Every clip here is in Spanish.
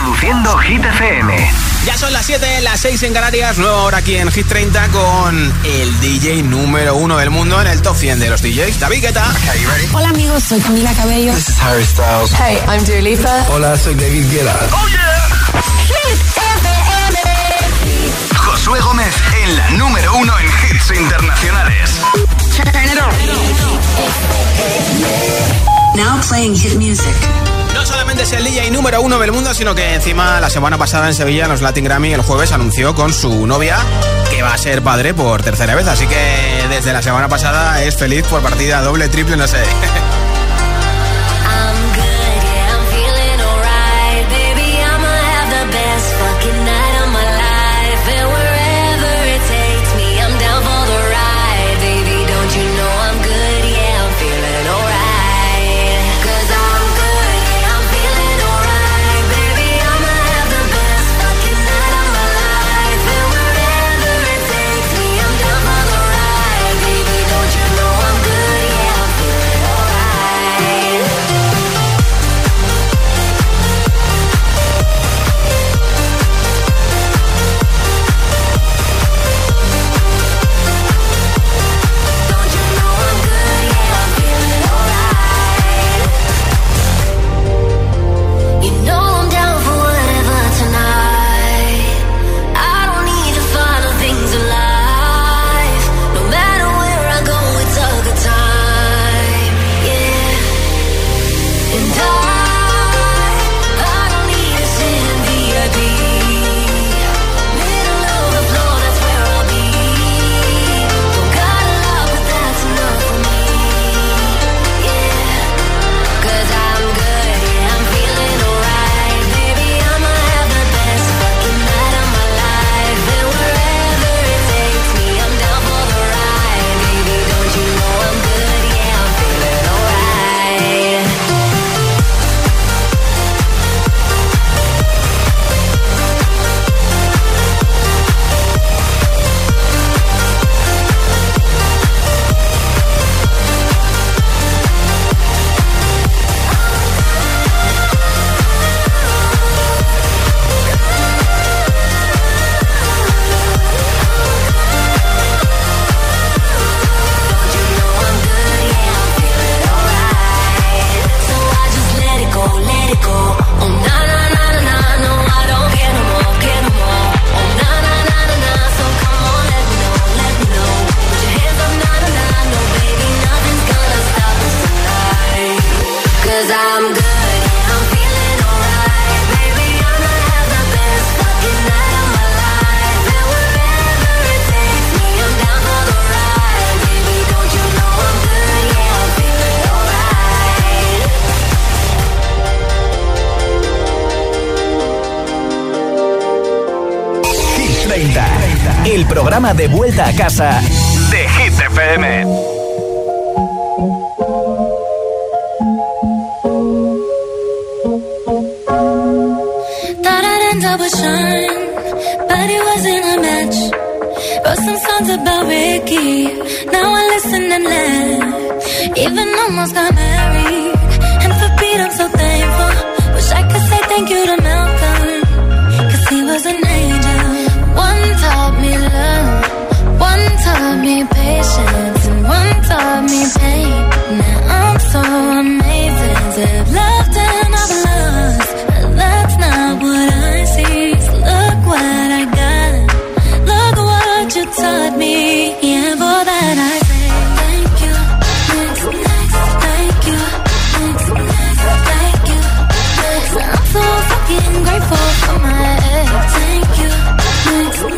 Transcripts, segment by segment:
Reproduciendo Hit FM. Ya son las 7, las 6 en Canarias, nueva hora aquí en Hit 30 con el DJ número 1 del mundo en el top 100 de los DJs, David Guetta. Okay, you ready? Hola amigos, soy Camila Cabello. This is Harry Styles. Hey, I'm Dua Lipa. Hola, soy David Guetta. ¡Oh, yeah! Hit FM. Josué Gómez en la número 1 en hits internacionales. Turn it on. Now playing hit music. No solamente es el DJ número 1 del mundo, sino que encima la semana pasada en Sevilla, en los Latin Grammy, el jueves anunció con su novia que va a ser padre por tercera vez. Así que desde la semana pasada es feliz por partida doble, triple, no sé. El programa de vuelta a casa de Hit FM. Thought I'd end up with Sean, but it wasn't a match. Wrote some songs about Ricky, now I listen and laugh. Even almost got married, and for Pete I'm so thankful. Wish I could say thank you to Malcolm, 'cause he was an angel. One taught me love, one taught me patience, and one taught me pain. Now I'm so amazing to have loved and I've lost, but that's not what I see. So look what I got, look what you taught me, and for that I say thank you, thank you, thank you, thank you. I'm so fucking grateful for my ex. Thank you. Thank you,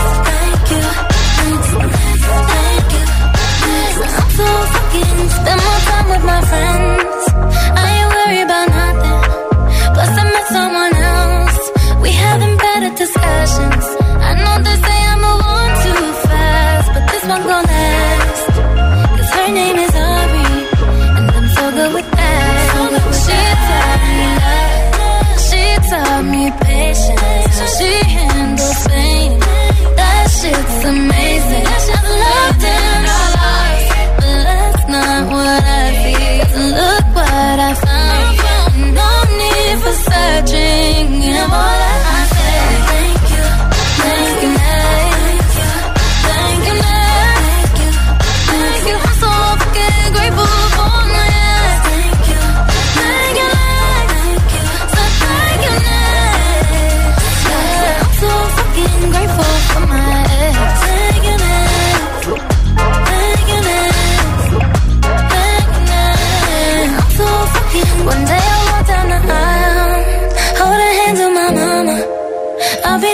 thank you. I'm so fucking spend more time with my friends. I ain't worried about nothing. Plus I met someone else. We having better discussions. I know they say I move on too fast, but this one gon' last. 'Cause her name is Ari, and I'm so good with that. She taught me love, she taught me patience, so she handles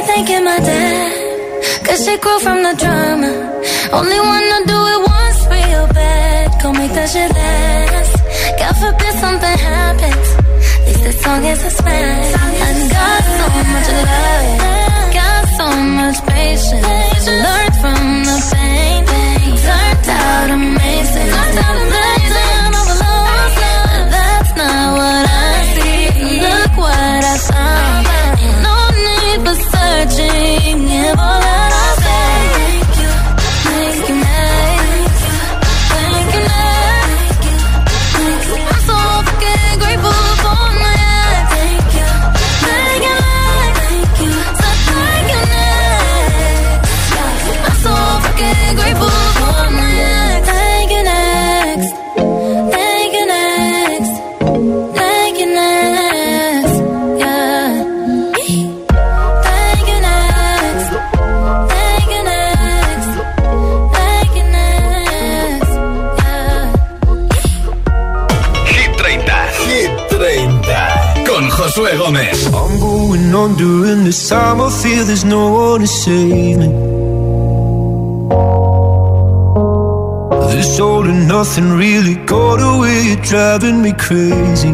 thanking my dad, 'cause she grew from the drama. Only wanna do it once real bad. Go make that shit last. God forbid something happens. At least this song is a smash. I got so much love, got so much patience. Learned from the pain, turned out amazing. That's not what I see. Look what I found. Ain't no need for searching. Give all that I say. Thank you, thank you, next. Thank you, next. I'm so fucking grateful for my thank you, thank you, thank you, so thank you, next. I'm so fucking grateful for my thank you, next. Thank you, next. Thank you, next. Yeah. Thank you, next. Thank you, next. Thank you, next. Yeah. Hit 30. Hit 30. Con Josué Gómez. I'm going on during this time. I feel there's no one to save me. This all and nothing really got away, you're driving me crazy.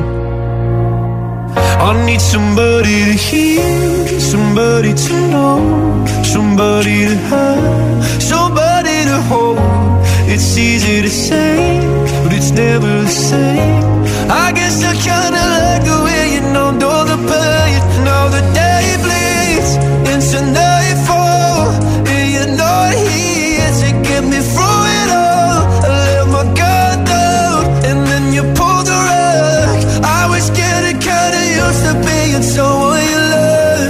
I need somebody to hear, somebody to know, somebody to have, somebody to hold. It's easy to say, but it's never the same. I guess I kinda like the way you numbed all the pain. Now the day bleeds into nightfall, and you're not here to get me through it all. I let my guard down, and then you pulled the rug. I was getting kinda used to being someone you love.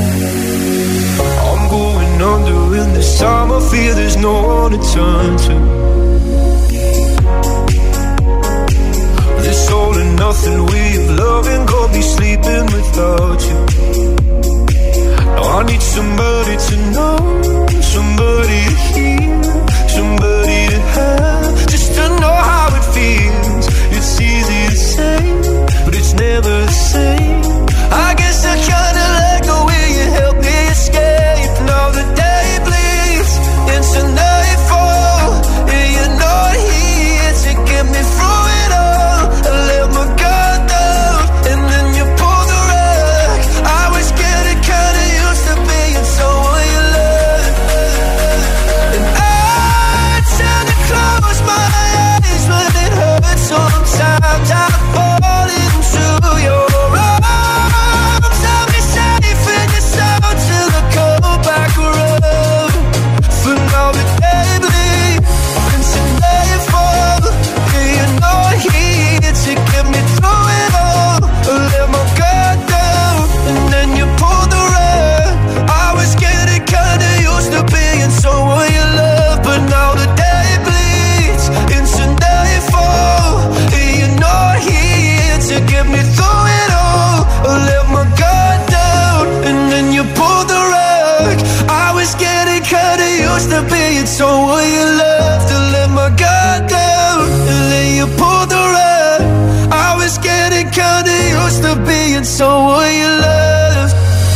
I'm going under in this time. I feel there's no one to turn to. This all and nothing way of loving got me sleeping without you. Now I need somebody to know, somebody to hear, somebody to have, just to know how it feels. It's easy to say, but it's never the same. I guess I kinda like the way you help me escape. Now the day bleeds into nightfall, and you're not here to get me through it all. I let my guard down, and then you pulled the rug. I was getting kinda used to being someone you love. And I tend to close my eyes when it hurts. Sometimes I fall into your arms. I'll be safe in your soul till I come back around. For now the day bleeds into nightfall, and you're not here to get me through it all. I let my guard down, and then you pulled the rug. I was getting kinda used to being someone you love, but now the day bleeds into nightfall, and you're not here to get me through it all. I let my guard down, and then you pulled the rug. I was getting kinda used to being someone you love. To let my guard down, and then you pulled the rug. I was getting kinda used to being someone you love.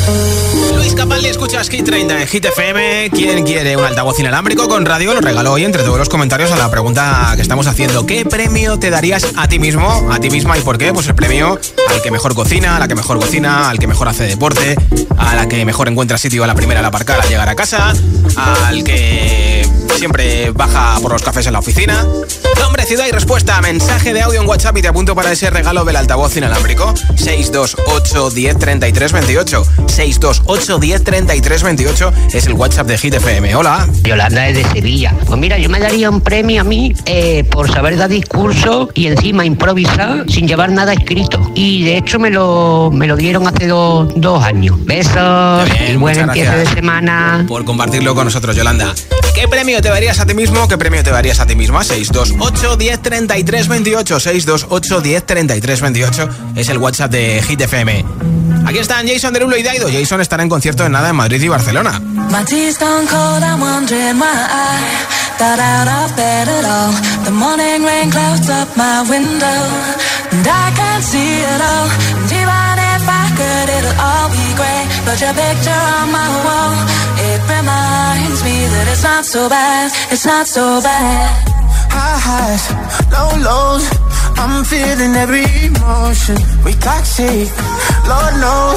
Luis Capaldi, escuchas Hit 30 en Hit FM. ¿Quién quiere un altavoz inalámbrico con radio? Lo regaló hoy entre todos los comentarios a la pregunta que estamos haciendo. ¿Qué premio te darías a ti mismo, a ti misma y por qué? Pues el premio al que mejor cocina, a la que mejor cocina, al que mejor hace deporte, a la que mejor encuentra sitio a la primera al aparcar al llegar a casa, al que siempre baja por los cafés en la oficina. Nombre, ciudad y respuesta. Mensaje de audio en WhatsApp y te apunto para ese regalo del altavoz inalámbrico. 628 10 33 28. 628 10 33 28 es el WhatsApp de Hit FM. Hola. Yolanda es de Sevilla. Pues mira, yo me daría un premio a mí por saber dar discurso y encima improvisar sin llevar nada escrito. Y de hecho me lo dieron hace dos años. Besos Bien, y buen empiezo de semana. Por compartirlo con nosotros, Yolanda. ¿Qué premio te darías a ti mismo? ¿Qué premio te darías a ti misma? 628 10 33 28. 628 10 33 28 es el WhatsApp de Hit FM. Aquí están Jason Derulo y Daido. Jason estará en concierto en nada en Madrid y Barcelona. My tea's gone cold, I'm wondering why I got out of bed at all. The morning rain clouds up my window, and I can't see it all. And even if I could, it'll all be grey. but your picture on my wall, it reminds me that it's not so bad, it's not so bad. High highs, low lows, I'm feeling every emotion. We toxic, Lord knows.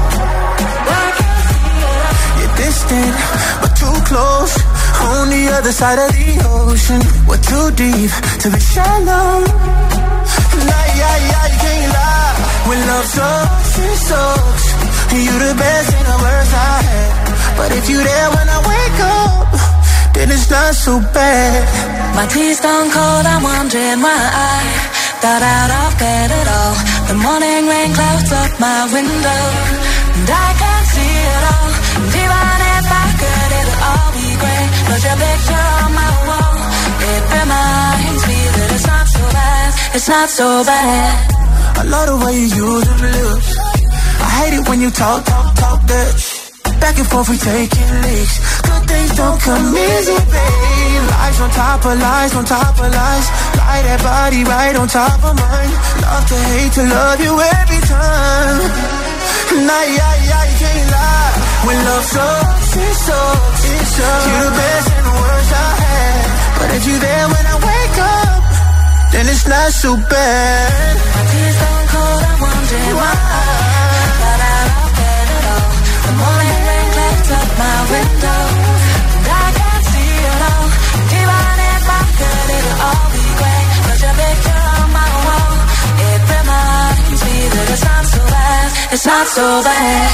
You're distant, but too close. On the other side of the ocean, we're too deep to be shallow. Nah, yeah, you can't lie. When love sucks, it sucks. You the best and the worst I had. But if you there when I wake up, then it's not so bad. My tea's gone cold, I'm wondering why I got out of bed at all. The morning rain clouds up my window, and I can't see it all. And even if I could, it'll all be great. But your picture on my wall, it reminds me that it's not so bad, it's not so bad. I love the way you use them lips. I hate it when you talk that shit. Back and forth we taking leaks. Good things don't come easy, babe. Lies on top of lies, on top of lies. Lie that body right on top of mine. Love to hate to love you every time. Nah, yeah, you can't lie. When love sucks, it sucks, it sucks. You're the best and the worst I had. But if you there when I wake up, then it's not so bad. My tea's gone cold, I'm wondering why I got out of bed at all. The morning rain clouds up my window, and I can't see it all. Even if I could, it'll all be great. But your picture on my wall, it reminds me that it's not so bad, it's not so bad.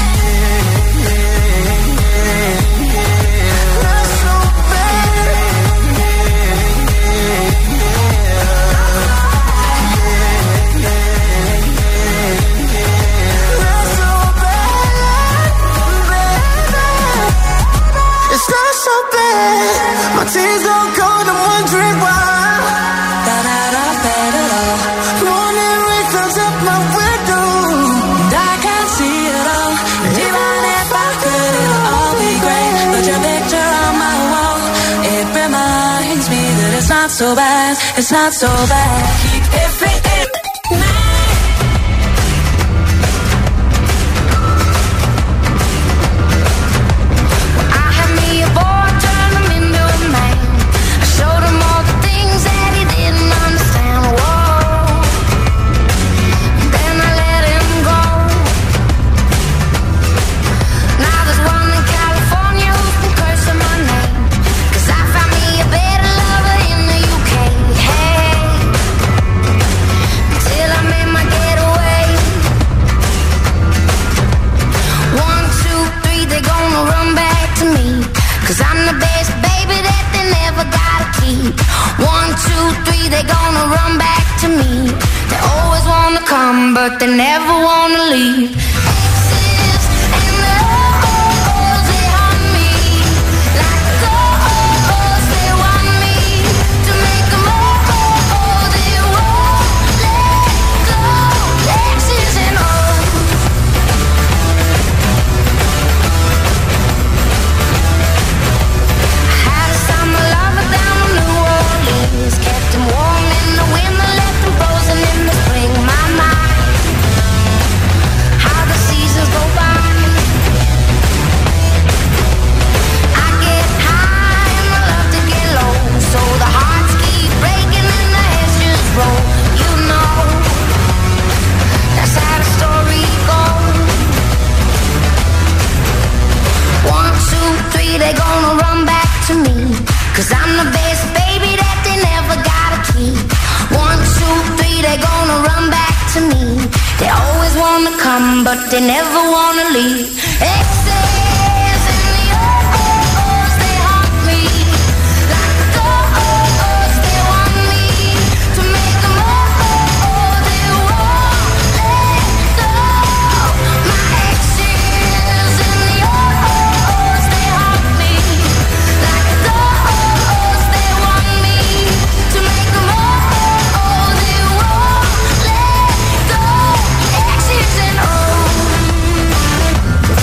It's not so bad. My tears don't cold, I'm wondering why. Got out of bed at all. Morning rain clouds up my window, and I can't see it all. And even if I could, it'll all be great. But your picture on my wall, it reminds me that it's not so bad, it's not so bad. Keep it fit. But they never wanna leave. Exes and the hoes, they haunt me. Like ghosts, they want me to make them whole. They won't let go. Exes and hoes. I had a summer lover down in New Orleans. Kept him warm in the winter, left him frozen in the spring. My mind. Go by. I get high and I love to get low, so the hearts keep breaking and the heads just roll. You know, that's how the story goes. 1, 2, 3, they gonna run back to me, 'cause I'm the best baby that they never gotta keep. 1, 2, 3, they gonna run back to me. They always wanna come, but they never wanna leave. Exes and the O's, they haunt me. Like ghosts, they want me to make them whole. They won't let go. My exes and the O's, they haunt me. Like ghosts, they want me to make them whole. They won't let go. Exes and O's.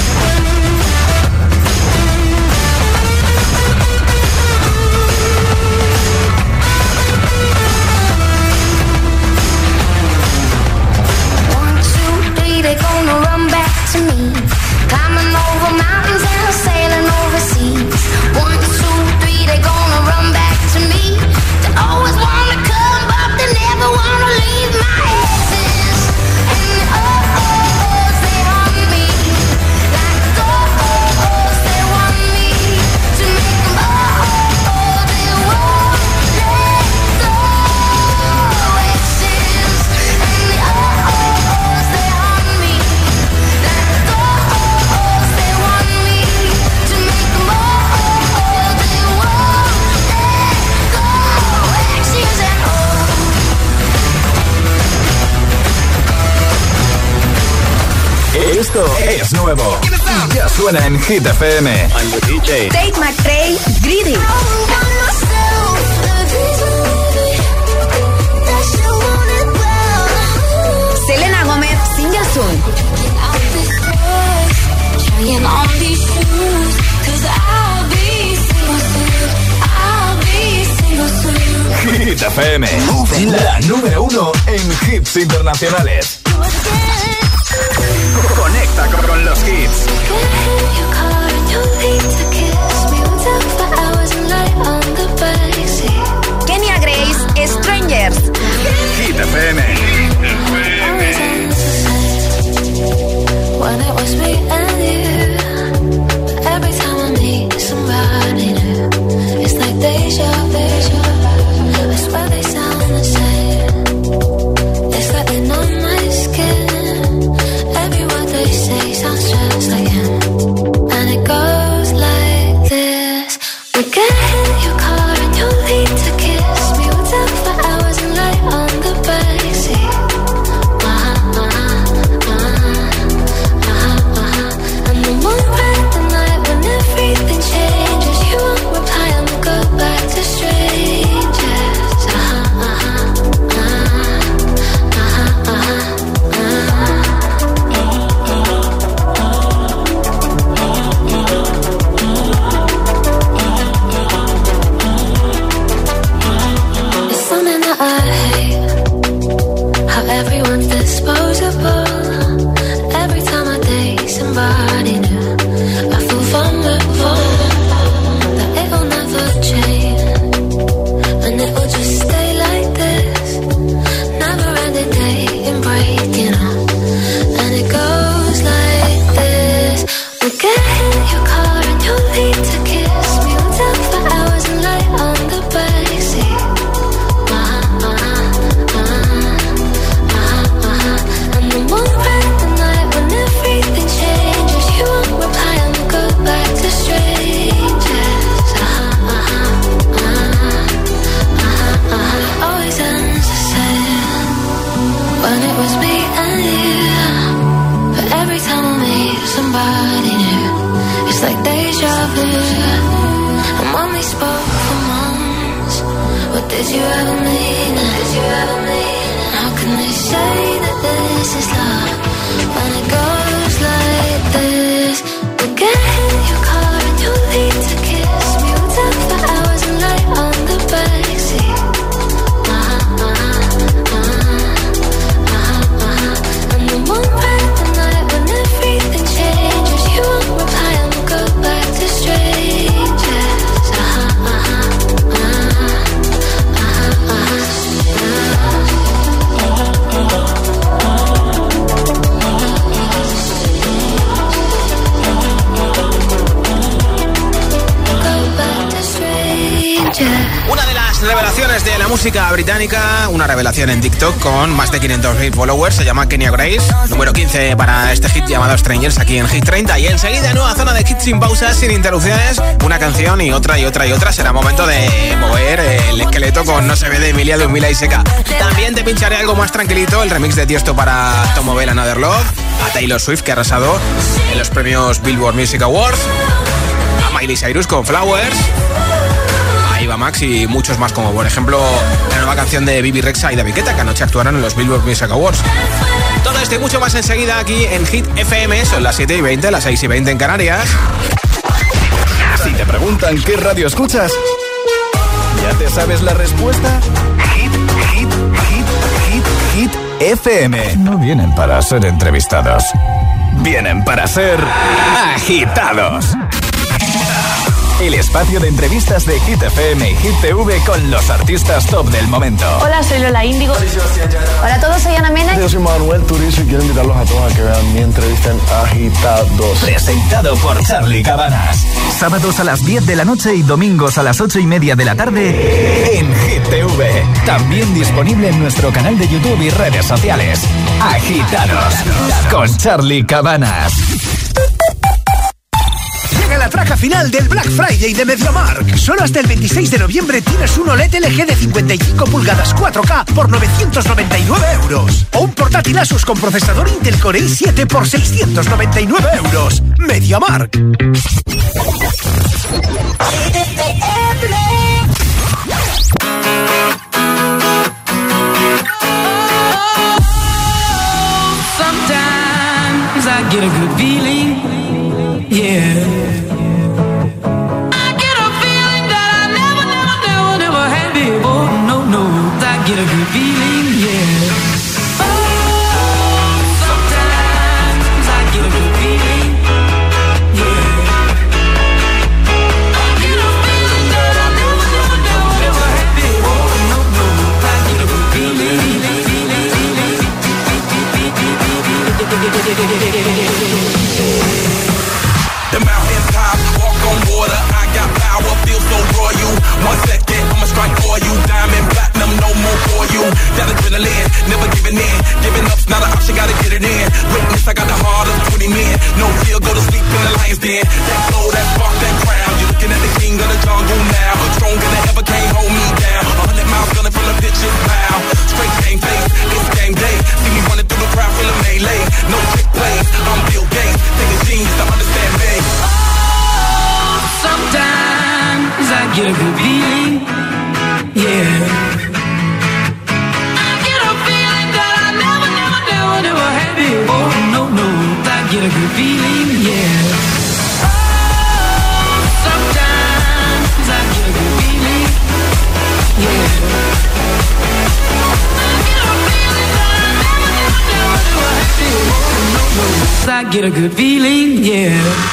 Esto es nuevo y ya suena en Hit FM. I'm the DJ. Tate McRae, Greedy. Selena Gomez, Single Soon. Hit FM, la número 1 en hits internacionales. Conecta con los hits. Kenya Grace, Strangers. Hit FM. When it was me and you, every time I meet somebody new, it's like deja vu. I swear they sound the same. It's like they know my skin. Every word they say sounds just like him. And it goes like this: we get in your car and you leave to kiss me. We'll talk for hours and lie on the backseat. And the moon bright the night when everything changes. You won't reply and we'll go back to strangers. It's something that I hate, how everyone's disposable. Every time I date somebody new, I feel vulnerable, that it'll never change, and it will just stay like this, never ending dating, breaking up, and it goes like this: we'll get in your car and you'll leave to kiss me. We'll talk for hours and lie on the backseat. And the moon bright the night when everything changes. You won't reply and we'll go back to strangers. Always ends the same when it was me and you. But every time I meet somebody new, it's like deja vu. And when we spoke for months, what did you ever mean? Did you ever mean? How can they say that this is love when it goes like this? We'll get in your car and you'll leave to kiss me. We'll talk for hours and lie on the backseat. And the moon bright the night when everything changes. You won't reply and we'll go back to strangers. Una de las revelaciones de la música británica, una revelación en TikTok con más de 500.000 followers, se llama Kenya Grace, número 15 para este hit llamado Strangers aquí en Hit 30. Y enseguida, nueva zona de hits sin pausas, sin interrupciones, una canción y otra y otra y otra. Será momento de mover el esqueleto con No se ve de Emilia, Ludmilla y Seca. También te pincharé algo más tranquilito, el remix de Tiesto para Tomo Bell Another Love, a Taylor Swift, que ha arrasado en los premios Billboard Music Awards, a Miley Cyrus con Flowers, Eva Max y muchos más, como por ejemplo la nueva canción de Bibi Rexha y David Guetta, que anoche actuaron en los Billboard Music Awards. Todo esto y mucho más enseguida aquí en Hit FM. Son las 7:20, las 6:20 en Canarias. Si te preguntan qué radio escuchas, ¿ya te sabes la respuesta? Hit FM. No vienen para ser entrevistados, vienen para ser agitados. El espacio de entrevistas de Hit FM y Hit TV con los artistas top del momento. Hola, soy Lola Índigo. Hola a todos, soy Ana Mena. Yo soy Manuel Turizo y quiero invitarlos a todos a que vean mi entrevista en Agitados. Presentado por Charly Cabanas. Sábados a las 10 de la noche y domingos a las 8:30 de la tarde en Hit TV. También disponible en nuestro canal de YouTube y redes sociales. Agitados con Charly Cabanas. Llega la traca final del Black Friday de MediaMarkt. Solo hasta el 26 de noviembre tienes un OLED LG de 55 pulgadas 4K por 999 euros. O un portátil Asus con procesador Intel Core i7 por 699 euros. MediaMarkt. Sometimes I get a good feeling, yeah. I get a feeling that I never had before. No, I get a good feeling, yeah. Oh, sometimes I get a good feeling, yeah. I get a feeling that I never had before. No, I get a good feeling. The mountain top, walk on water. I got power, feel so royal. 1 second, I'ma strike for you. Diamond, platinum, no more for you. That adrenaline, never giving in. Giving up's not an option, gotta get it in. Witness, I got the heart of 20 men. No fear, go to sleep in the lion's den. That flow, that spark, that crown. You're looking at the king of the jungle now. Stronger than ever, can't hold me down. 100 miles gunning from the pitcher's mound. Straight game face, it's game day. See me running through the crowd, feeling melee. No trick plays, I'm Bill Gates. Take a genius to understand me. Sometimes I get a good feeling, yeah. I get a feeling that I never had before. No, I get a good feeling, yeah. Oh, sometimes I get a good feeling, yeah. I get a feeling that I never had before. No, I get a good feeling, yeah.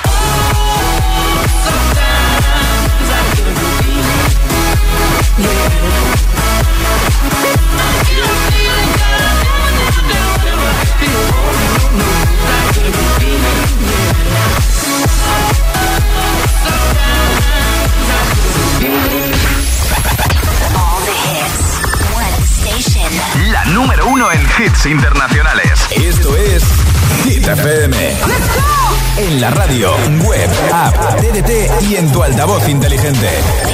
La número 1 en hits internacionales. Esto es Hit FM. En la radio, web, app, TDT y en tu altavoz inteligente.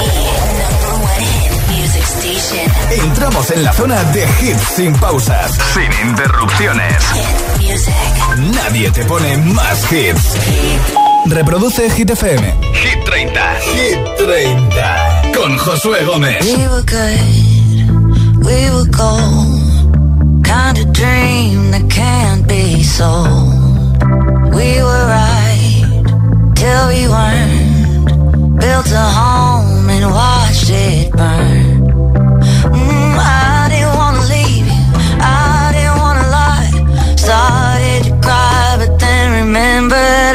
Entramos en la zona de hits sin pausas, sin interrupciones. Nadie te pone más hits. Reproduce Hit FM. Hit 30. Hit 30. Con Josué Gómez. We were good, we were gold. Kind of dream that can't be sold. We were right till we weren't. Built a home and watched it burn. I didn't wanna leave you, I didn't wanna lie. Started to cry, but then remembered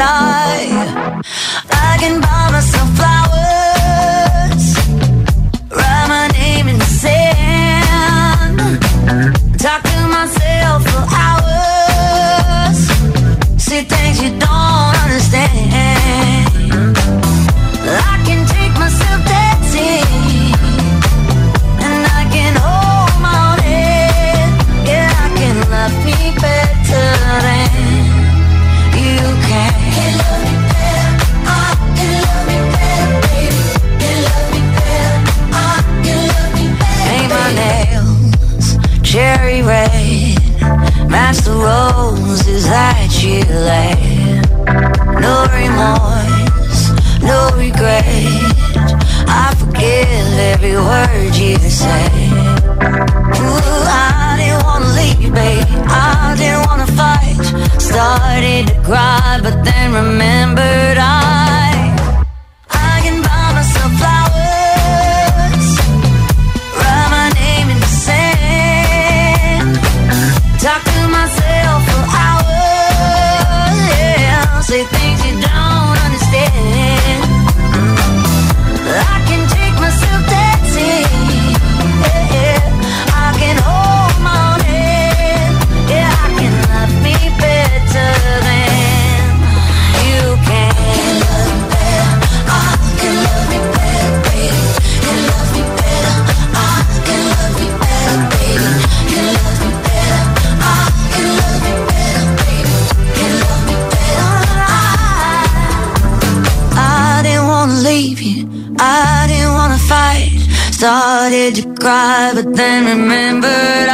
I can buy myself flowers, write my name in the sand, talk to myself for hours, see things you don't understand. I can take myself dancing, and I can hold my own head. Yeah, I can love me better than you can. Can love me better, I can love me better, baby. Can love me better, I can love me better. Paint my nails cherry red, match the roses that you laid. No remorse, no regret, I forgive every word you say. Ooh, I didn't wanna leave, babe, I didn't wanna fight. Started to cry, but then remembered I can buy myself flowers, write my name in the sand, talk to myself for hours, yeah, say things you don't understand. I can take myself dancing, yeah, I can hold my own head, yeah, I can love me better than you can. Can love me better, I can love me better, baby. Can love me better, I can love me better, baby. Can love me better, I can love me better, baby. Can love me better, I started to cry, but then remembered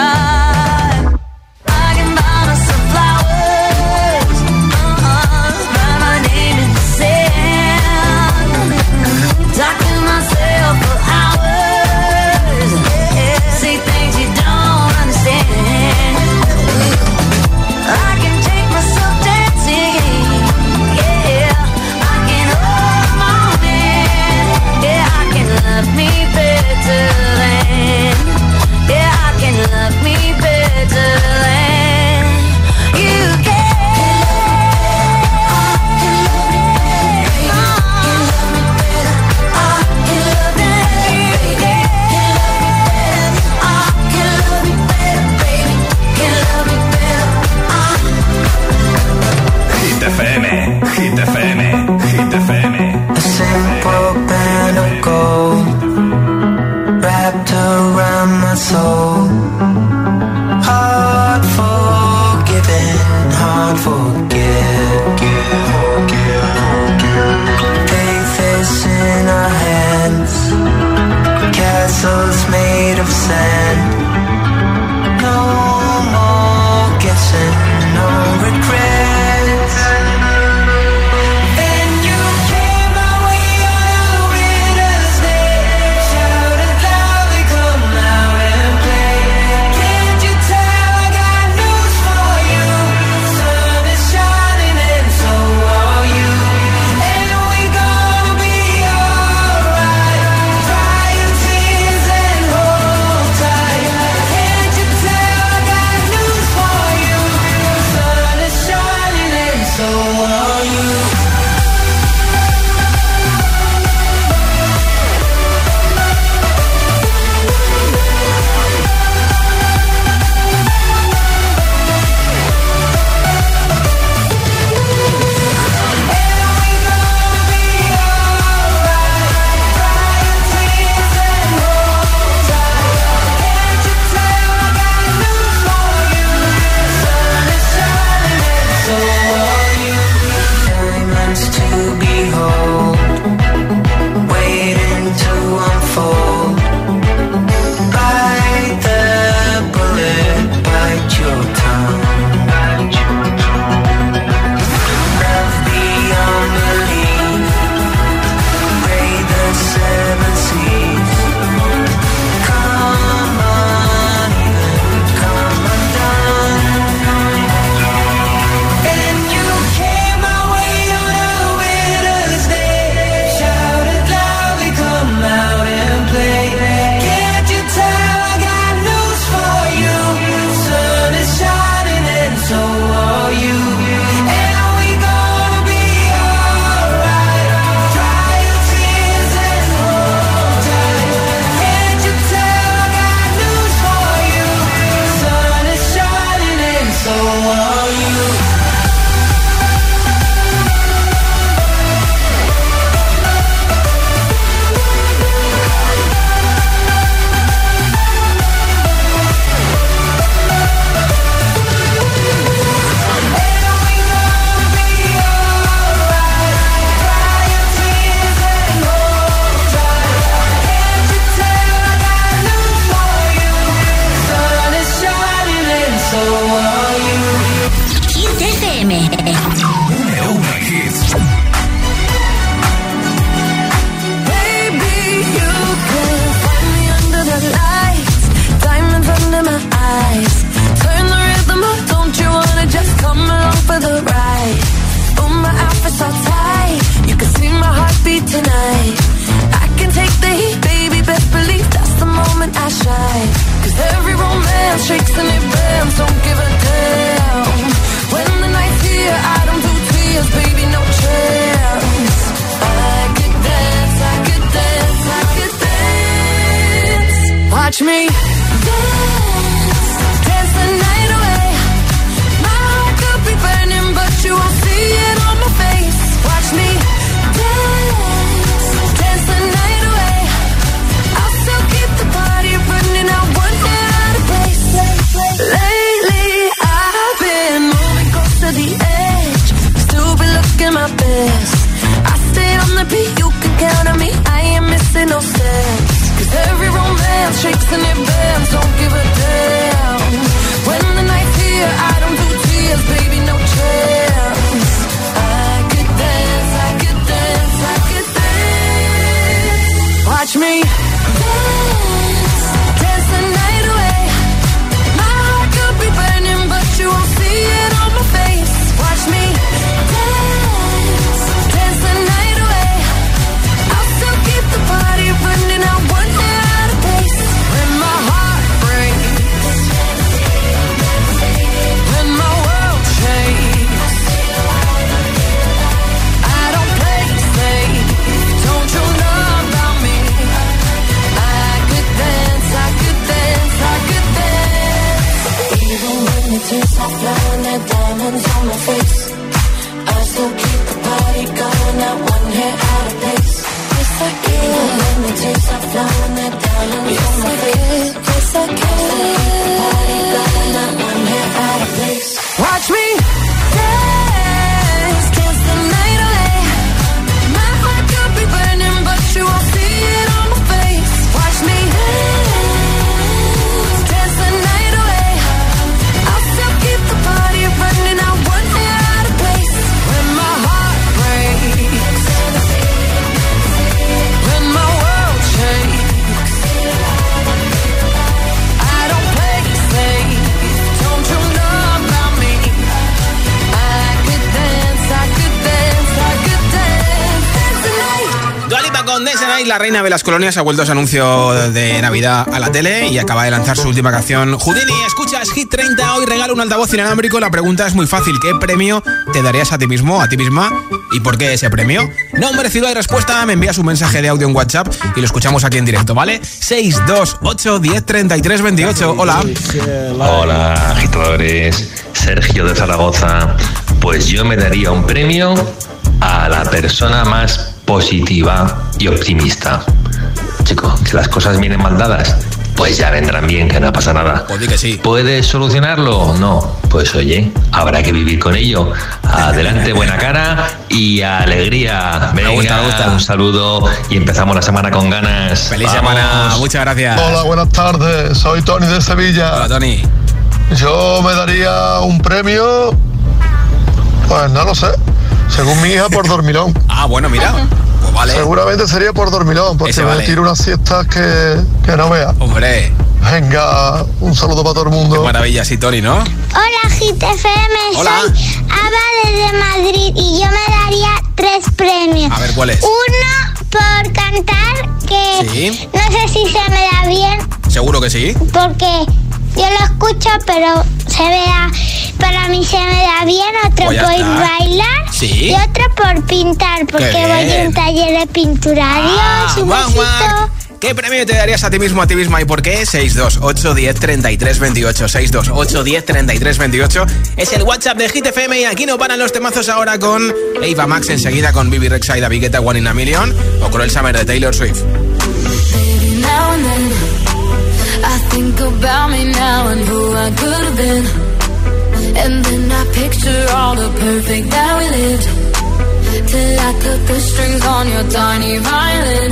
I can buy myself flowers, write my name in the sand, talk to myself for hours, say things you don't understand. I can take myself dancing, yeah, I can hold my man, yeah, I can love me better than, yeah, I can love me better than you can. Hit FM, Hit FM, Hit FM. A simple band of gold wrapped around my soul. Hard forgiven, hard forget. Faith is in our hands, castles made of sand. No more guessing, no regrets. Then you came my way on a winter's day, shouted loudly, come out and play. Can't you tell I got news for you? Sun is shining and so are you. And we gonna be alright. Dry your tears and hold tight. Can't you tell I got news for you? Sun is shining and so are you. Diamonds to behold, waiting to unfold. Bite the bullet, bite your tongue. Love beyond belief, braid the seven seas. Come uneven, come undone. And you came my way on a winter's day, shouted loudly, come out and play. Can't you tell I got news for you? Sun is shining and so are you. And we gonna be alright. Dry your tears and hold tight. Can't you tell I got news for you? Sun is shining and so are you. Hit FM. Número 1 en hits. Baby, you can find me under the lights, diamonds under my eyes. Turn the rhythm up, don't you wanna just come along for the ride? Oh, my outfit's all tight, you can see my heartbeat tonight. I can take the heat, baby, best believe that's the moment I shine. 'Cause every romance shakes and it bends, don't give a damn. When the night's here, I don't do tears, baby, no chance. I could dance, I could dance, I could dance. Watch me dance, dance the night away. My heart could be burning, but you won't see it on my face. Watch me dance, dance the night away. I'll still keep the party running, I won't get out of place. Lately, I've been moving close to the edge, still be looking my best. I stay on the beat, you can count on me, I ain't missing no steps. 'Cause every romance shakes and it bends, don't give a damn. When the night's here, I don't do tears, baby, no chance. I could dance, I could dance, I could dance. Watch me dance, dance the night away. My heart could be burning, but you won't see it on my face. Watch me dance, dance the night away. I'll still keep the party running out one hair out of place. When my heart breaks, when my world shakes, I don't play safe. Don't you know about me? I could dance, I could dance, I could dance. Even when the tears are flowing, they're diamonds on my face. I still keep the party going, not one hair out of place. Yes, I can. Even when the tears are flowing, they're diamonds on my face. Yes, I can. I still keep the party going, not one hair out of place. Watch me dance, dance the night away. My heart could be burning, but you won't see it on my face. Watch me dance, dance the night away. I'll still keep the party running out one hair out of place. When my heart breaks, when my world shakes, I don't play safe. Don't you know about me? I could dance, I could dance, I could dance, dance the night. Dua Lipa con Dance the Night, la reina de las colonias, ha vuelto a su anuncio de Navidad a la tele y acaba de lanzar su última canción. Houdini, escuchas Hit 30, hoy regalo un altavoz inalámbrico. La pregunta es muy fácil, ¿qué premio te darías a ti mismo, a ti misma? ¿Y por qué ese premio? Nombre, ciudad y respuesta, me envías un mensaje de audio en WhatsApp y lo escuchamos aquí en directo, ¿vale? 628 10 33 28, hola. Hola, agitadores. Sergio de Zaragoza. Pues yo me daría un premio a la persona más positiva y optimista. Chico, que las cosas vienen mal dadas, pues ya vendrán bien, que no pasa nada. Pues di que sí. ¿Puedes solucionarlo? No. Pues oye, habrá que vivir con ello. Adelante, buena cara y alegría. Venga, me gusta. Un saludo y empezamos la semana con ganas. Feliz ¡Vamos! semana, muchas gracias. Hola, buenas tardes. Soy Tony de Sevilla. Hola, Tony. Yo me daría un premio, pues no lo sé, según mi hija, por dormilón. Ah, bueno, mira. Pues vale. Seguramente sería por dormilón, porque Ese me vale. tiro unas siestas que no veas. Hombre, Venga, un saludo para todo el qué mundo. maravilla, sí, Tony, ¿no? Hola, Hit FM, Hola. soy Ava desde Madrid y yo me daría 3 premios. A ver, ¿cuál es? Uno por cantar, que Sí. no sé si se me da bien, Seguro que sí. porque yo lo escucho, pero para mí se me da bien. Otro Pues ya por está. bailar Sí. y otro por pintar, porque Qué voy bien. a un taller de pintura. Adiós, un guau, besito. guau. ¿Qué premio te darías a ti mismo, a ti misma y por qué? 628 10 33 28. 628 10 33 28 es el WhatsApp de Hit FM y aquí no paran los temazos ahora con Ava Max, enseguida con Bibi Rexha y David Guetta, One in a Million, o Cruel Summer de Taylor Swift. Baby, now and then I think about me now and who I could have been. And then I picture all the perfect that we lived. Till I cut the strings on your tiny violin.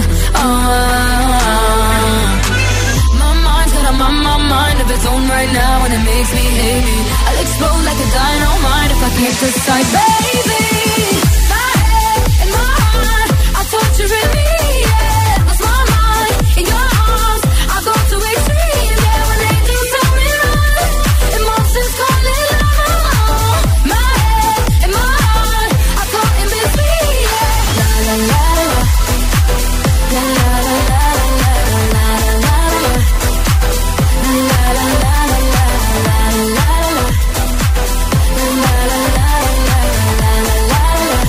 My mind's got my mind of its own right now, and it makes me hate me. I'll explode like a dynamite if I can't decide, baby. My head and my heart are torturing me. Yeah, lost my mind in your arms. I go to extreme. Yeah, when they do tell me run, emotions call it love. My head and my heart are caught in between. Yeah, la la la la. La la la la la la la la. La la la la la la la. La la la la la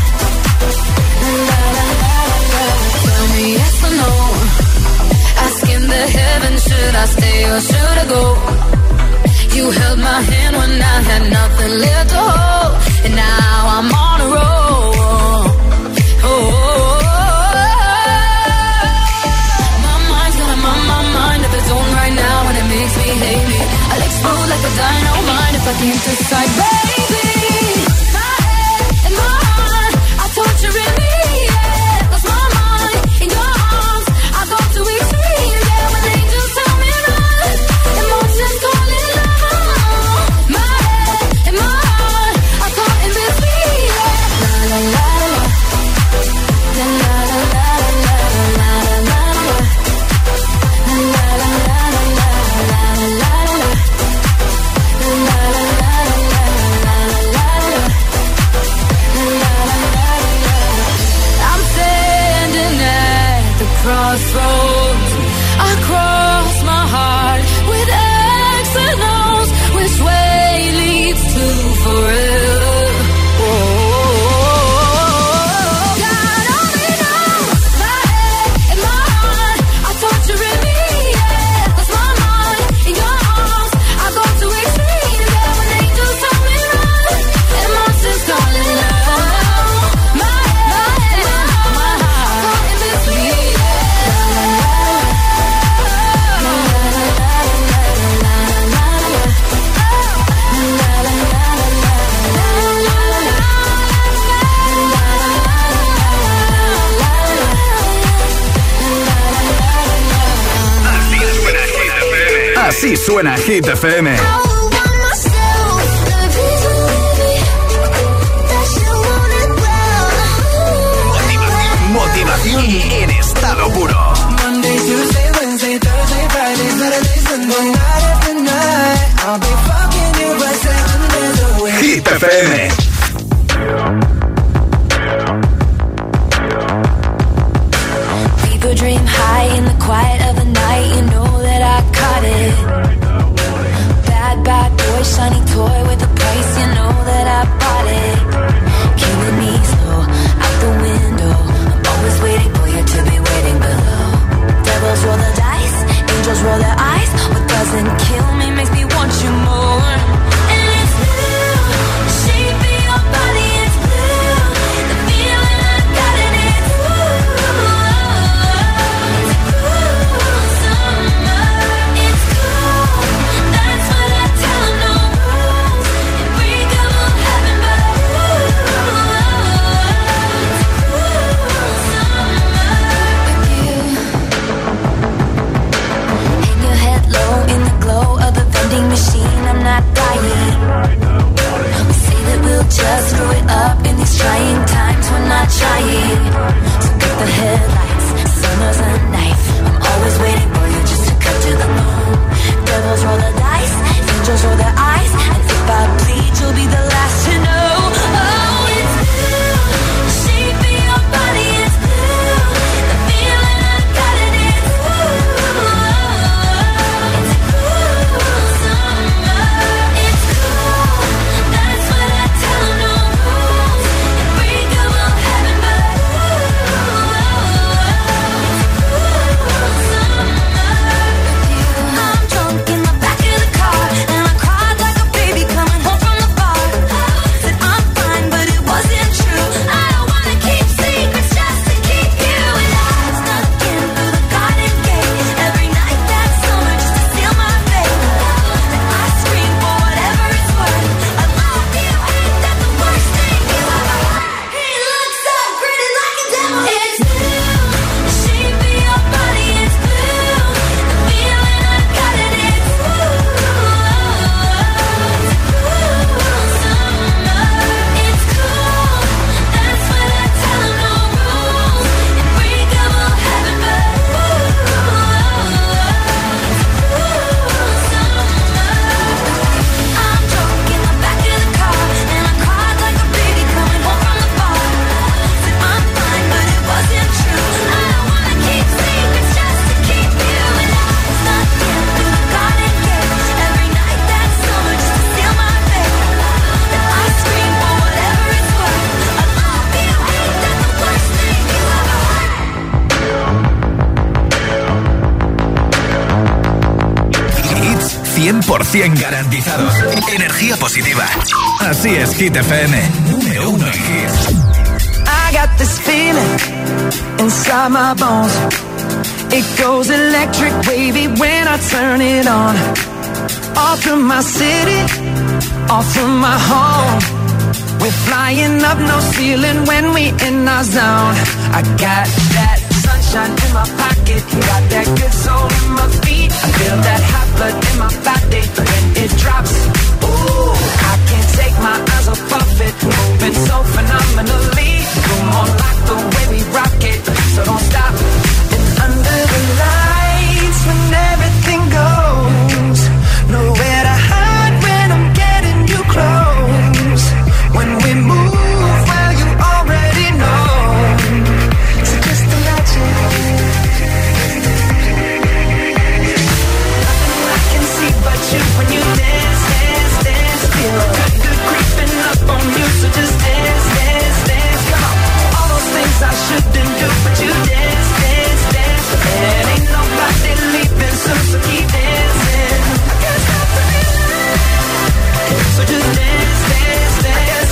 la. Tell me yes or no. Asking the heavens, should I stay or should I go? You held my hand when I had nothing left to hold, and now I'm on a roll. My mind's got my mind of its own right now, and it makes me hate me. I'll explode like a dynamite if I can't decide, baby. My head and my heart are torturing me. Yeah, lost my mind in your arms. I go to extreme. Yeah. Así suena Hit FM. Motivación en estado puro. Hit FM. People dream high in the quiet of the night. You know that I caught it. Bad, bad boy, shiny toy with a price. You know that I bought it. Killing me slow, out the window. I'm always waiting for you to be waiting below. Devils roll the dice, angels roll their eyes. What doesn't kill me makes me want you more. And it's blue, the shape of your body is blue. The feeling I got in it, machine, I'm not dying. We say that we'll just screw it up in these trying times. We're not trying. So cut the headlights, summer's a knife. I'm always waiting for you just to cut to the bone. Devils roll the dice, angels roll their eyes. And if I bleed, you'll be the last to know. Oh, it's blue, the shape of your body is blue. The feeling I got in it, garantizados. Energía positiva. Así es Hit FM. Número 1 en hits. I got this feeling inside my bones. It goes electric wavy when I turn it on. Off from my city, off from my home. We're flying up, no ceiling when we in our zone. I got that sunshine in my pocket, got that good soul in my feet. I feel that hot blood in my body when it drops. Ooh, I can't take my eyes off of it, moving so phenomenally. Come on, like the way we rock it, so don't stop. And under the lights, when everything goes, nowhere to hide when I'm getting you close. When we move, well, you already know. So just imagine. Nothing I can see but you when you dance, dance, dance. Feel good creeping up on you, so just dance, dance, dance. Come on. All those things I shouldn't do, but you dance, dance, dance. And ain't nobody leaving soon, so keep dancing. I can't stop the feeling. So just dance, dance, dance.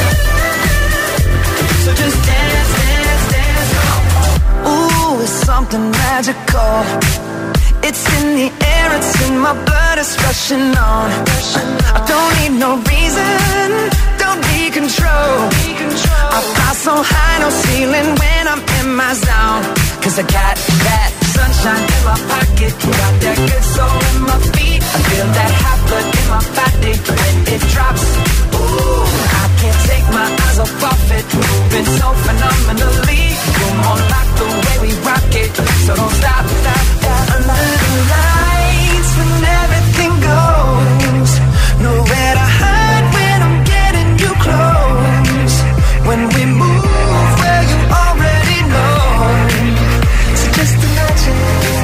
So just dance, dance, dance. Ooh, it's something magical. It's in the air, it's in my blood, it's rushing on. I don't need no reason, don't need control. I fly so high, no ceiling when I'm in my zone. 'Cause I got that sunshine in my pocket, got that good soul in my feet. I feel that hot blood in my body when it drops. Ooh, I can't take my eyes off of it, moving so phenomenally. You're more like the way we rock it, so don't stop, stop, stop. Under the lights when everything goes, nowhere to hide when I'm getting you close. When we move where you already know, so just imagine.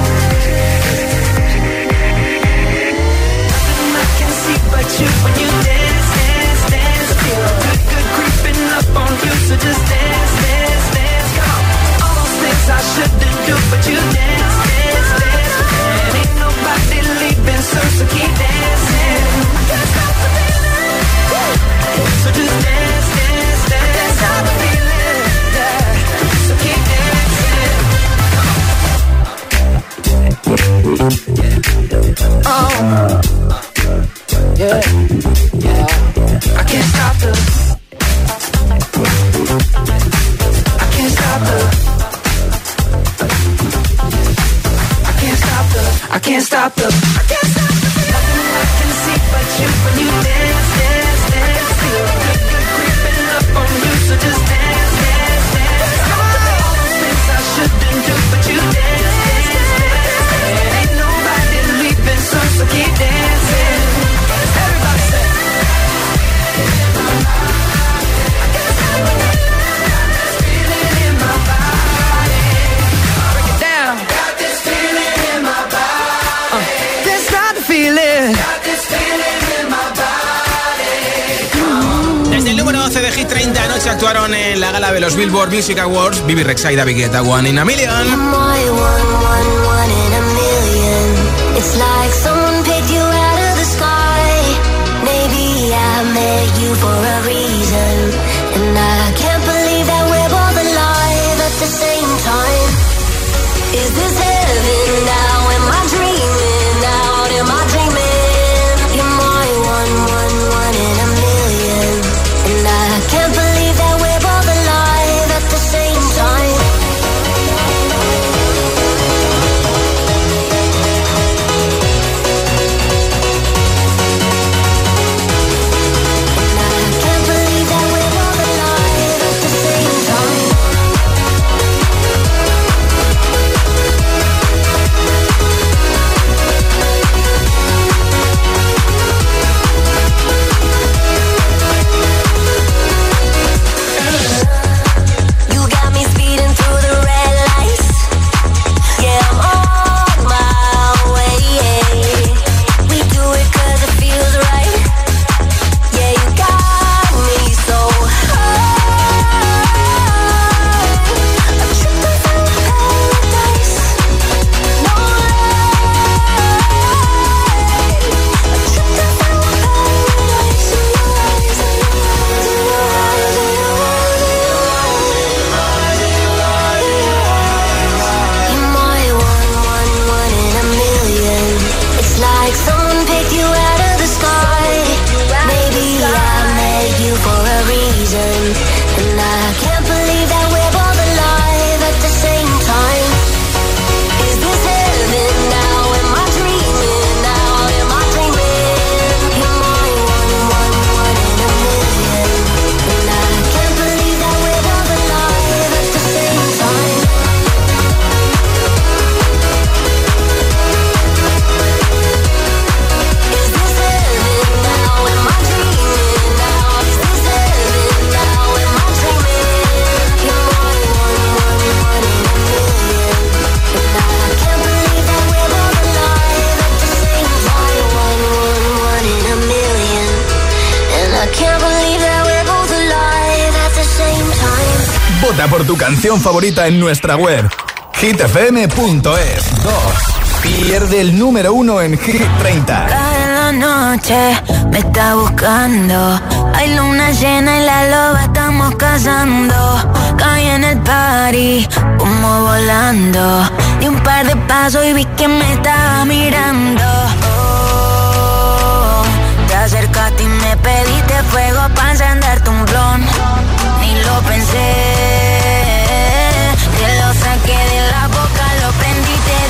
Nothing I can see but you when you dance, dance, dance. Feel good, good creeping up on you, so just dance, dance, dance. Come on, all those things I shouldn't do, but you dance, dance, dance. And ain't nobody leaving, so keep dancing. I can't stop the feeling, so just dance, dance, dance. I can't stop the feeling, yeah. So keep dancing. Oh, yeah, yeah. I can't stop the. I can't stop the. I can't stop the. I can't stop the. I can't stop the. Nothing I can see but you when you dance, dance, dance. Feel good, good creeping up on you, so just dance, dance, dance. All those things I shouldn't do, but you dance, dance, dance. And ain't nobody leaving, so keep dancing. Everybody say. I can't stop the feeling in my body. Break it down. Got this feeling in my body. Can't stop the feeling. Got this feeling in my body. Desde el número 11 de Hit 30 anoche actuaron en la gala de los Billboard Music Awards Bibi Rexha y David Guetta, One in a Million. One in a million. It's like someone picked you out of the sky. Maybe I met you for a reason, and I can't believe that we're both alive at the same time. Is this heaven now? Am I dreaming out? Am I dreaming? You're my one in a million, and I can't believe that we're both alive at the same time. Vota por tu canción favorita en nuestra web hitfm.es. 2. Pierde el número 1 en Hit 30. En la noche me está buscando. Hay luna llena y la loba estamos cazando. Caí en el party, como volando. Di un par de pasos y vi que me estaba mirando. Oh, te acercaste y me pediste fuego para encenderte un blon. Ni lo pensé, te lo saqué de la boca, lo prendí, te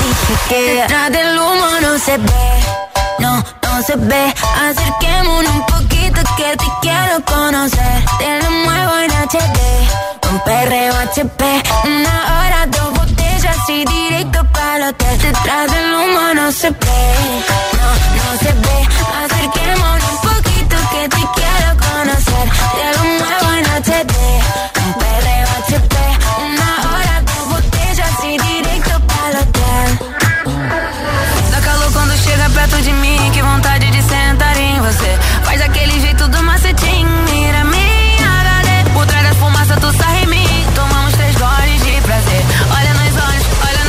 Detrás del humo no se ve, no se ve. Acerquémonos un poquito que te quiero conocer. Te lo muevo en HD, un perreo HP. 1 hora, 2 botellas y directo para el hotel. Detrás del humo no se ve, no se ve. Acerquémonos un poquito que te quiero conocer. Te lo muevo en HD, un perreo HP. 1 hora, 2 botellas y directo para el hotel. Dá calor quando chega perto de mim, que vontade de sentar em você. Faz aquele jeito do macetinho, mira minha HD. Por trás da fumaça tu sai em mim, tomamos 3 goles de prazer. Olha nos olhos,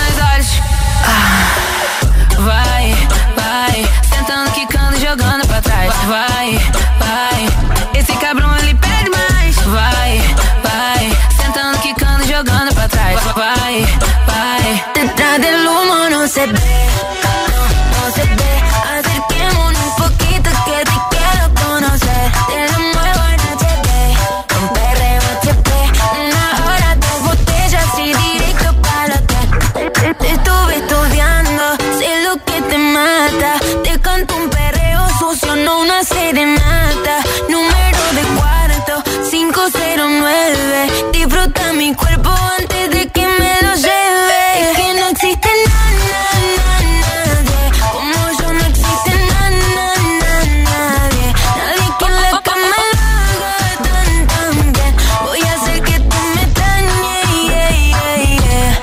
vai, sentando, quicando, jogando pra trás. Vai, esse cabrão ele pede mais. Vai, sentando, quicando, jogando pra trás. Vai, detrás del humo no se ve, no se ve. Acerquémonos un poquito que te quiero conocer. Te lo muevo en HD, un perreo HP. 1 hora, 2 botellas y directo para el hotel. Te estuve estudiando, sé lo que te mata. Te canto un perreo sucio, no una serenata. Número de cuarto, 509. Disfruta mi cuerpo antes de que me lo lleve. Es que no existe nadie como yo, no existe nadie. Nadie que en la cama lo haga tan bien. Voy a hacer que tú me extrañes.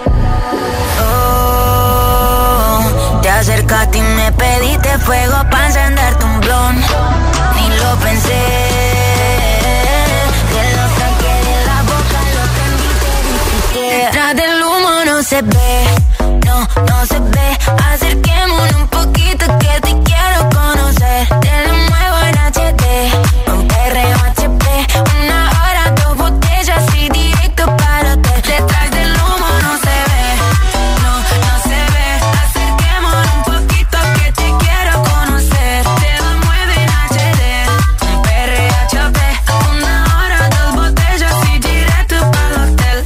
Oh, te acercaste y me pediste fuego para encenderte un blon. Ni lo pensé, te lo saqué de la boca, lo prendí, te dije. Detrás del humo no se ve, no se ve. Acerquémonos un poquito que te quiero conocer. Te lo muevo en HD, un perreo HP. 1 hora, 2 botellas y directo para el hotel. Detrás del humo no se ve, no se ve. Acerquémonos un poquito que te quiero conocer. Te lo muevo en HD, un perreo HP. 1 hora, 2 botellas y directo para el hotel.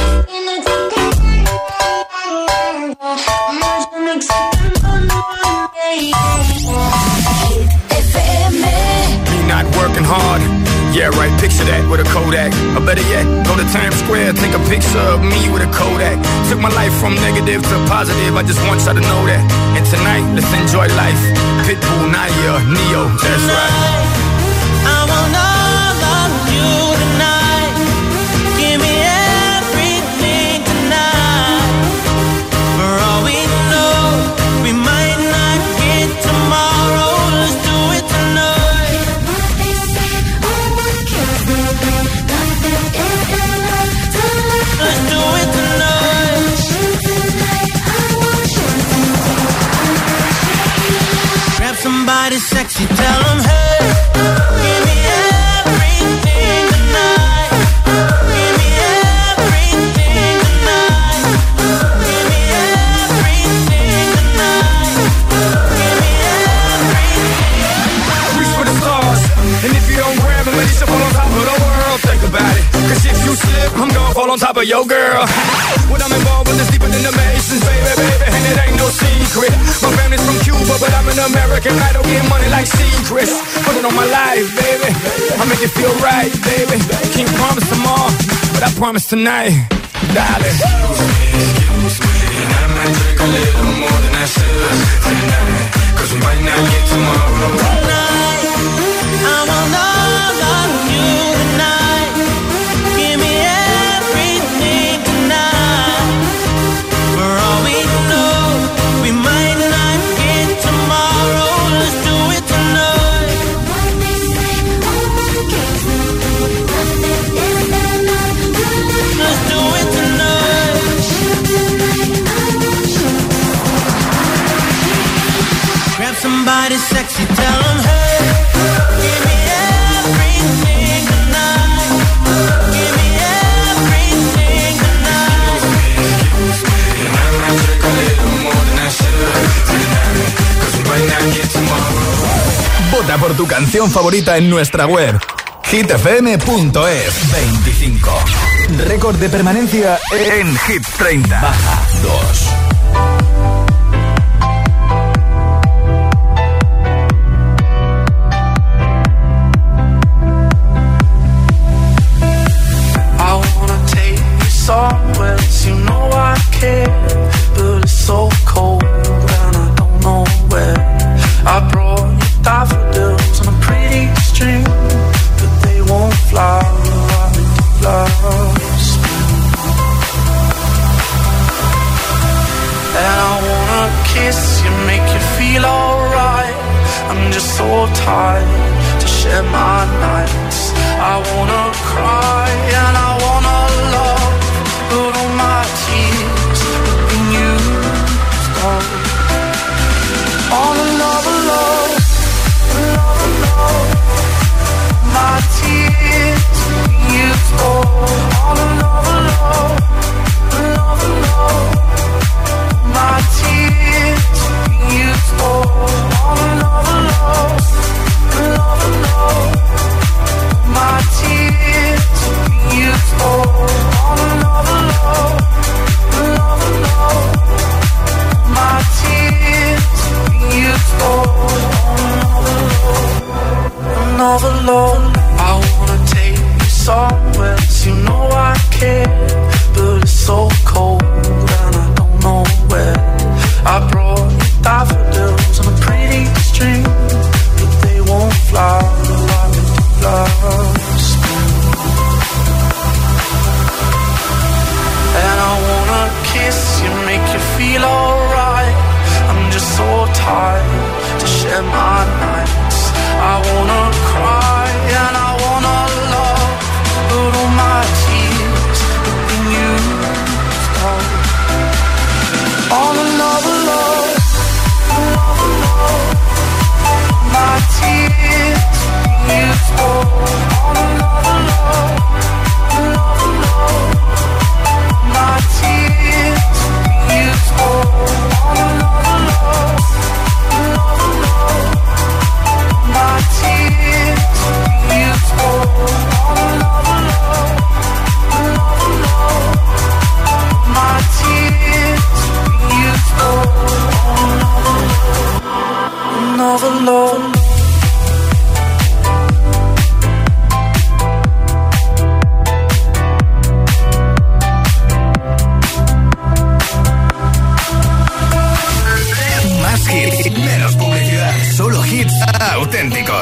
Not working hard. Yeah, right, picture that with a Kodak. Or better yet, go to Times Square, take a picture of me with a Kodak. Took my life from negative to positive, I just want y'all to know that. And tonight, let's enjoy life. Pitbull, Naya, Neo, that's right. I want all of you tonight. Give me everything tonight. For all we know, we might not get tomorrow. Let's do it tonight. Let's do it tonight. Grab somebody sexy, tell them hey. Give me everything tonight. Give me everything tonight. Give me everything tonight. Give me everything. Reach for the stars, and if you don't grab them, at least fall on top of the world. Think about it, cause if you slip, I'm gonna fall on top of your girl. What I'm involved with is deeper than the Masons, baby, and it ain't no secret. My family's from Cuba, but I'm an American idol, getting money like secrets. Put it on my life, baby, I'll make it feel right, baby. Can't promise tomorrow, but I promise tonight, darling. Excuse me, and I might drink a little more than I should tonight, cause we might not get tomorrow. Tonight, I want all of you tonight. Give me everything tonight. For all we know, we might not get tomorrow. Let's do it tonight. Let's do it tonight. Grab somebody sexy, tell them hey. Give me everything tonight. Give me everything tonight. Excuse me, and I might drink a little more than I should tonight, cause we might not get tomorrow. Vota por tu canción favorita en nuestra web hitfm.es. 25. Récord de permanencia en Hit 30. Baja 2. somewhere, you know I care, but it's so cold and I don't know where. I brought you daffodils on a pretty string, but they won't fly like flowers. And I wanna kiss you, make you feel alright. I'm just so tired to share my nights. I wanna cry and I wanna love, but all my tears have been used on. All another love, another love. My tears have been used all another love, another love. My tears have been used all another love, another love. My tears have been used all another love, another love. My tears have been used all another love. I wanna take you somewhere, you know I care, but it's so cold and I don't know where. I brought you daffodils on a pretty string, but they won't fly like flowers. And I wanna kiss you, make you feel alright. I'm just so tired to share my nights. I wanna cry and I wanna love, but all my tears have been used all another love, another love. My tears have been used all another love, another love. My tears have been used all another love, another love. My tears have been used all another love, another love. My tears have been used all another love. Más hits, menos publicidad. Solo hits auténticos.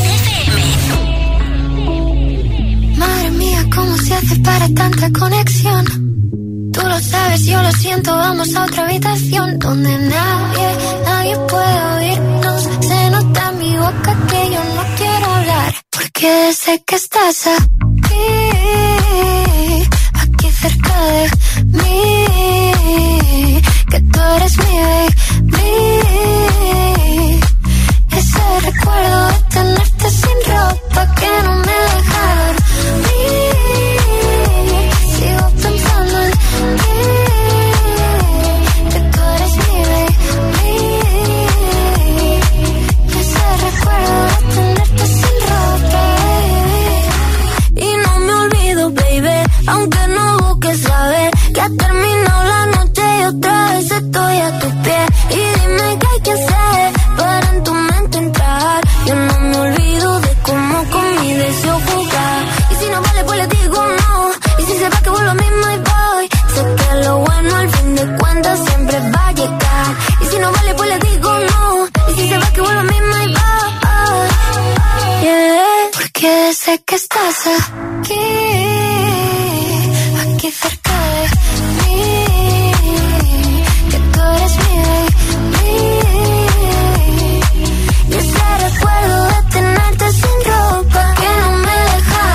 Madre mía, ¿cómo se hace para tanta conexión? Tú lo sabes, yo lo siento, vamos a otra habitación donde nadie puede oírnos. Se nota en mi boca que yo no quiero hablar, porque sé que estás aquí cerca de mí, que tú eres mi baby. Ese recuerdo de tenerte sin ropa que no me deja dormir. Sigo pensando en ti, que tú eres mi baby. Ese recuerdo de tenerte sin ropa, baby. Y no me olvido, baby, aunque no busques saber que ha terminado la noche y otra vez estoy a tus pies. Y dime qué hay que hacer para en tu mente entrar. Yo no me olvido de cómo con mi deseo jugar. Y si no vale, pues le digo no. Y si se va, que vuelvo a mí, my boy. Sé que lo bueno al fin de cuentas siempre va a llegar. Y si no vale, pues le digo no. Y si se va, que vuelvo a mí, my boy. Yeah. Porque sé que estás aquí cerca de mí, que tú eres mi baby. Y ese recuerdo de tenerte sin ropa que no me deja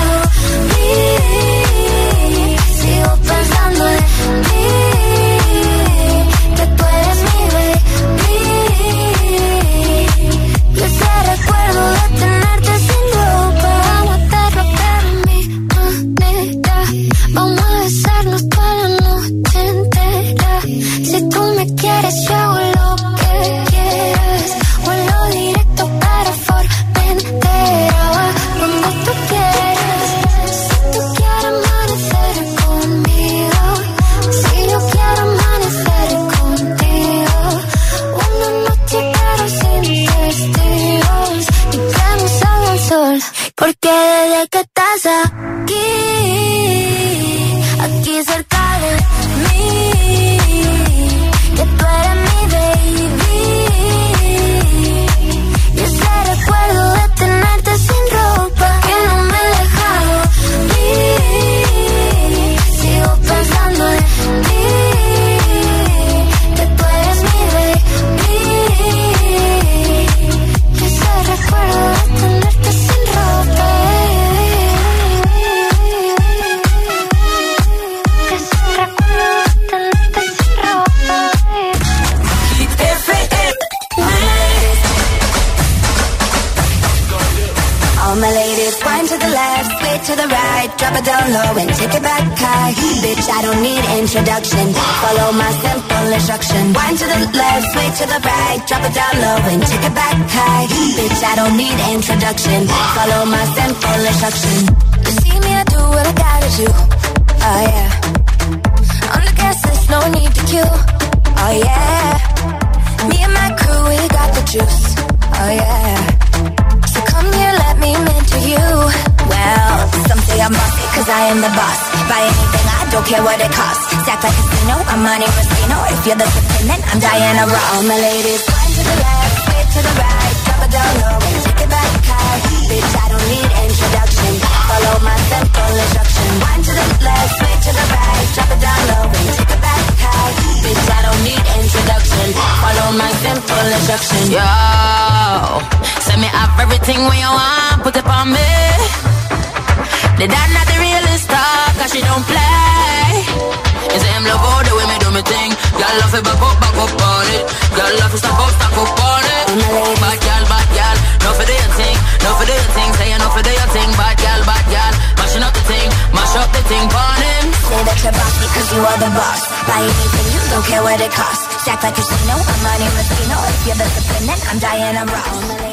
de mí, que tú eres mi baby. Y ese recuerdo de tenerte sin ropa que no me he dejado ir. Sigo pensando en ti, que tú eres mi baby. Y ese recuerdo de tenerte sin ropa. All my ladies, wind to the left, sway to the right, drop it down low and take it back high. Bitch, I don't need introduction. Follow my simple instruction. Wind to the left, sway to the right, drop it down low and take it back high. Bitch, I don't need introduction. Follow my simple instruction. You see me, I do what I gotta do. Oh yeah. On the gas list, no need to queue. Oh yeah. Me and my crew, we got the juice. Oh yeah. So come here, let me mentor you. Well, some say I'm bossy cause I am the boss. Buy anything, I don't care what it costs. Stack like a casino, I'm Monte Moschino. If you're the dependent, I'm Diana Ross. All my ladies, wind to the left, sway to the right, drop it down low and take it back high. Bitch, I don't need introduction. Follow my simple instruction. Wind to the left, sway to the right, drop it down low and take it back high. Bitch, I don't need introduction. Follow my simple instruction. Yo, send me up everything when you want, put it on me. The dad not the realest star, cause she don't play. You say him love all the way me do me thing. Girl love it back up on it. Girl love it stack up on it. Bad girl, no for do your thing, no for do your thing. Say you no for do your thing, bad girl, mashing up the thing, mash up the thing, burn him. Say that you're bossy cause you are the boss. Buy anything, you don't care what it costs. Stack like a casino, I'm Monte Moschino. If you're the dependent, I'm Diana Ross.